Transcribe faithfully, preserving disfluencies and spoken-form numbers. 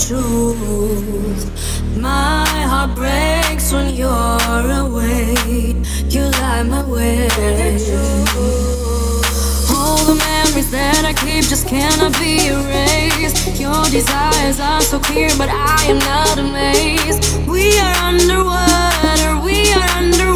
truth. My heart breaks when you're away. You light my way. All the memories that I keep just cannot be erased. Your desires are so clear, but I am not amazed. We are underwater, we are underwater.